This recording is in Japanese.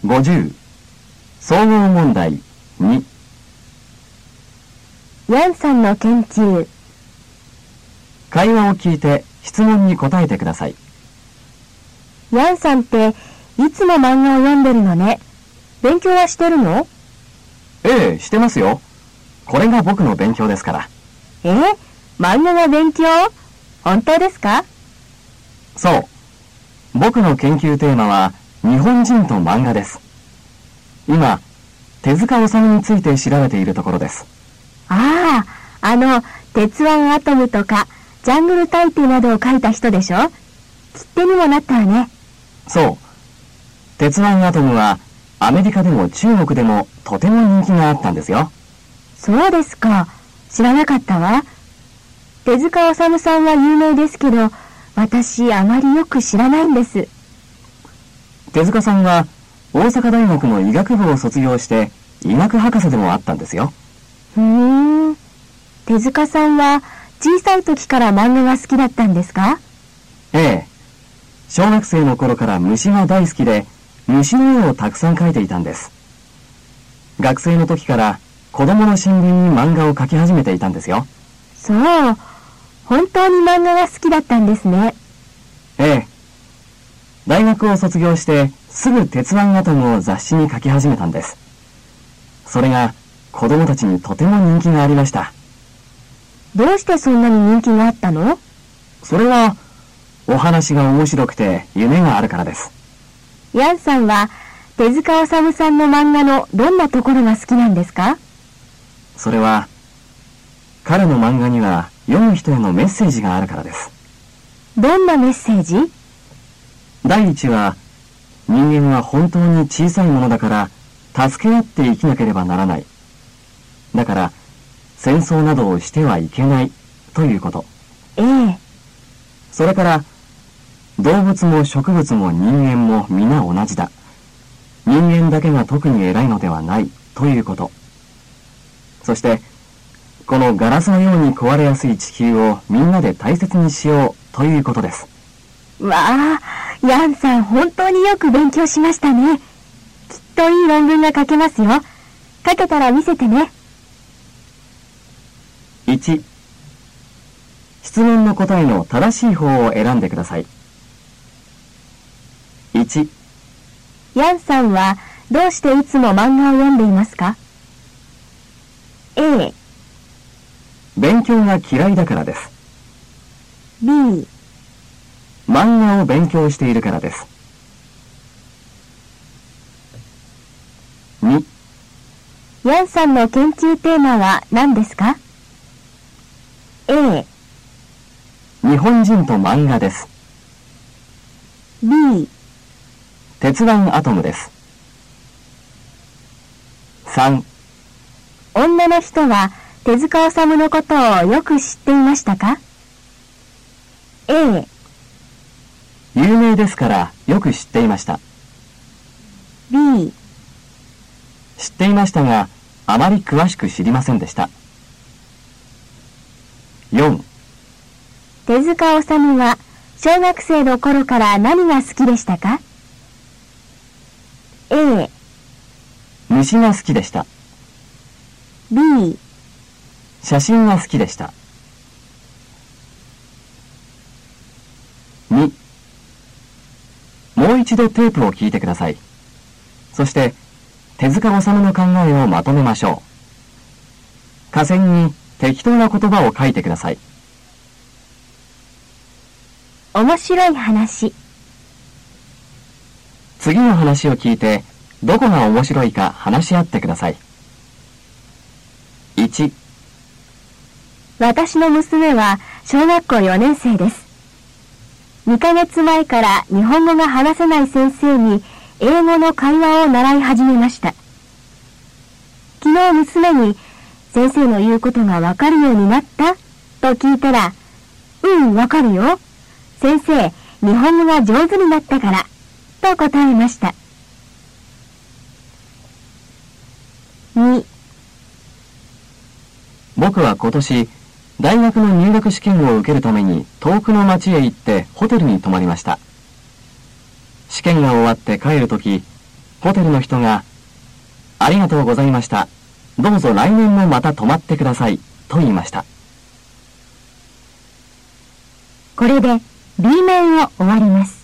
50総合問題2。 ヤンさんの研究。 会話を聞いて質問に答えてください。 ヤンさんっていつも漫画を読んでるのね。勉強はしてるの？ ええ、してますよ。これが僕の勉強ですから。 漫画が勉強？本当ですか？ そう。僕の研究テーマは日本人と漫画です。今、手塚治虫について調べているところです。 ああ、鉄腕アトムとかジャングル大帝などを書いた人でしょ？切手にもなったわね。 そう。鉄腕アトムはアメリカでも中国でもとても人気があったんですよ。 そうですか。知らなかったわ。手塚治虫さんは有名ですけど、私あまりよく知らないんです。 手塚さんは大阪大学の医学部を卒業して医学博士でもあったんですよ。 手塚さんは小さい時から漫画が好きだったんですか？ ええ。小学生の頃から虫が大好きで、虫の絵をたくさん描いていたんです。学生の時から子供の新聞に漫画を描き始めていたんですよ。 そう。本当に漫画が好きだったんですね。 ええ。大学を卒業してすぐ鉄腕アトムを雑誌に書き始めたんです。それが子供たちにとても人気がありました。 どうしてそんなに人気があったの？ それはお話が面白くて夢があるからです。 ヤンさんは手塚治虫さんの漫画のどんなところが好きなんですか？ それは彼の漫画には読む人へのメッセージがあるからです。 どんなメッセージ？ 第一は、人間は本当に小さいものだから助け合って生きなければならない。だから戦争などをしてはいけないということ。それから動物も植物も人間も皆同じだ。人間だけが特に偉いのではないということ。そしてこのガラスのように壊れやすい地球をみんなで大切にしようということです。 わあ、ヤンさん本当によく勉強しましたね。きっといい論文が書けますよ。書けたら見せてね。 1、質問の答えの正しい方を選んでください。1、 ヤンさんはどうしていつも漫画を読んでいますか？ A、 勉強が嫌いだからです。 B、 漫画を勉強しているからです。2、 ヤンさんの研究テーマは何ですか？ A、 日本人と漫画です。 B、 鉄腕アトムです。3、 女の人は手塚治虫のことをよく知っていましたか？ A、 有名ですからよく知っていました。 B、 知っていましたがあまり詳しく知りませんでした。4、 手塚治虫は小学生の頃から何が好きでしたか？ A、 虫が好きでした。 B、 写真が好きでした。2、もう一度テープを聞いてください。そして手塚治虫の考えをまとめましょう。下線に適当な言葉を書いてください。 面白い話。 次の話を聞いてどこが面白いか話し合ってください。1、 私の娘は小学校4年生です。2ヶ月前から日本語が話せない先生に英語の会話を習い始めました。昨日娘に先生の言うことがわかるようになったと聞いたら、わかるよ。先生、日本語が上手になったから、と答えました。2、 僕は今年大学の入学試験を受けるために遠くの町へ行ってホテルに泊まりました。試験が終わって帰るとき、 ホテルの人が、ありがとうございました。どうぞ来年もまた泊まってください。と言いました。 これで B 面を終わります。